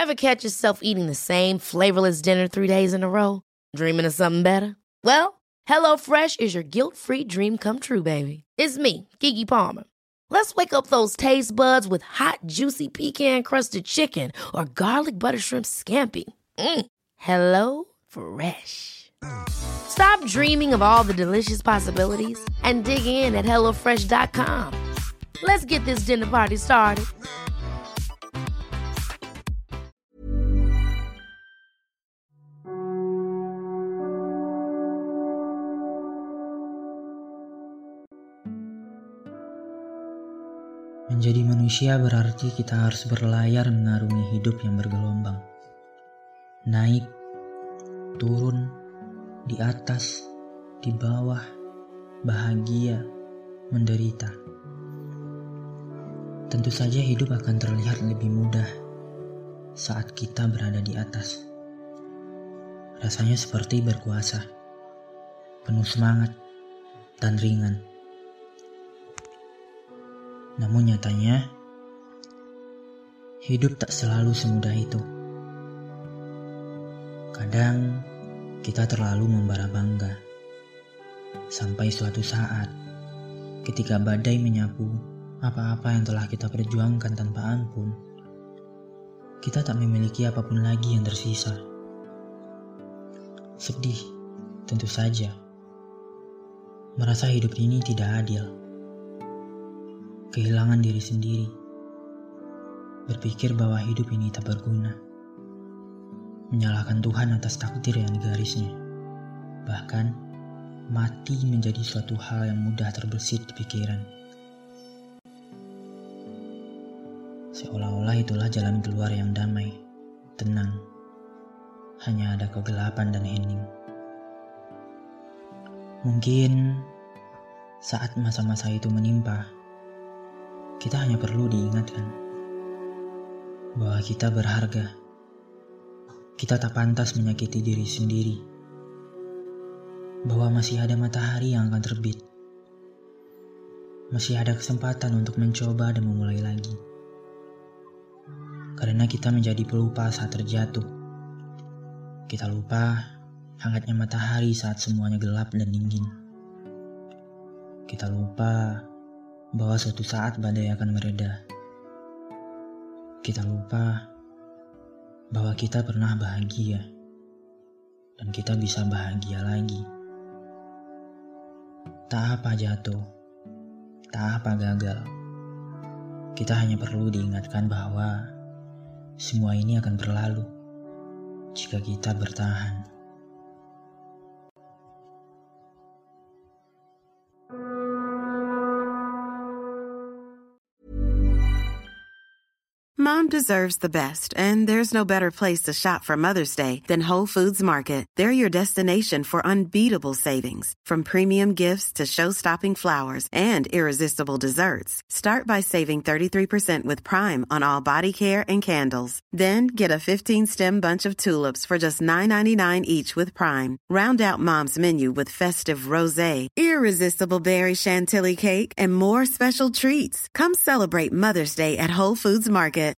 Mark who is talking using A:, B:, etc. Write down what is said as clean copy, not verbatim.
A: Ever catch yourself eating the same flavorless dinner 3 days in a row? Dreaming of something better? Well, HelloFresh is your guilt-free dream come true, baby. It's me, Keke Palmer. Let's wake up those taste buds with hot, juicy pecan-crusted chicken or garlic butter shrimp scampi. Hello Fresh. Stop dreaming of all the delicious possibilities and dig in at HelloFresh.com. Let's get this dinner party started.
B: Menjadi manusia berarti kita harus berlayar mengarungi hidup yang bergelombang. Naik, turun, di atas, di bawah, bahagia, menderita. Tentu saja hidup akan terlihat lebih mudah saat kita berada di atas. Rasanya seperti berkuasa, penuh semangat, dan ringan. Namun nyatanya, hidup tak selalu semudah itu. Kadang kita terlalu membara bangga, sampai suatu saat ketika badai menyapu apa-apa yang telah kita perjuangkan tanpa ampun, kita tak memiliki apapun lagi yang tersisa. Sedih, tentu saja. Merasa hidup ini tidak adil. Kehilangan diri sendiri, berpikir bahwa hidup ini tak berguna, menyalahkan Tuhan atas takdir yang digarisnya, bahkan mati menjadi suatu hal yang mudah terbersit di pikiran. Seolah-olah itulah jalan keluar yang damai, tenang, hanya ada kegelapan dan hening. Mungkin saat masa-masa itu menimpa, kita hanya perlu diingatkan bahwa kita berharga. Kita tak pantas menyakiti diri sendiri. Bahwa masih ada matahari yang akan terbit. Masih ada kesempatan untuk mencoba dan memulai lagi. Karena kita menjadi pelupa saat terjatuh. Kita lupa hangatnya matahari saat semuanya gelap dan dingin. Kita lupa bahwa suatu saat badai akan mereda. Kita lupa bahwa kita pernah bahagia dan kita bisa bahagia lagi. Tak apa jatuh, tak apa gagal. Kita hanya perlu diingatkan bahwa semua ini akan berlalu jika kita bertahan.
C: Mom deserves the best, and there's no better place to shop for Mother's Day than Whole Foods Market. They're your destination for unbeatable savings, from premium gifts to show-stopping flowers and irresistible desserts. Start by saving 33% with Prime on all body care and candles. Then get a 15-stem bunch of tulips for just $9.99 each with Prime. Round out Mom's menu with festive rosé, irresistible berry chantilly cake, and more special treats. Come celebrate Mother's Day at Whole Foods Market.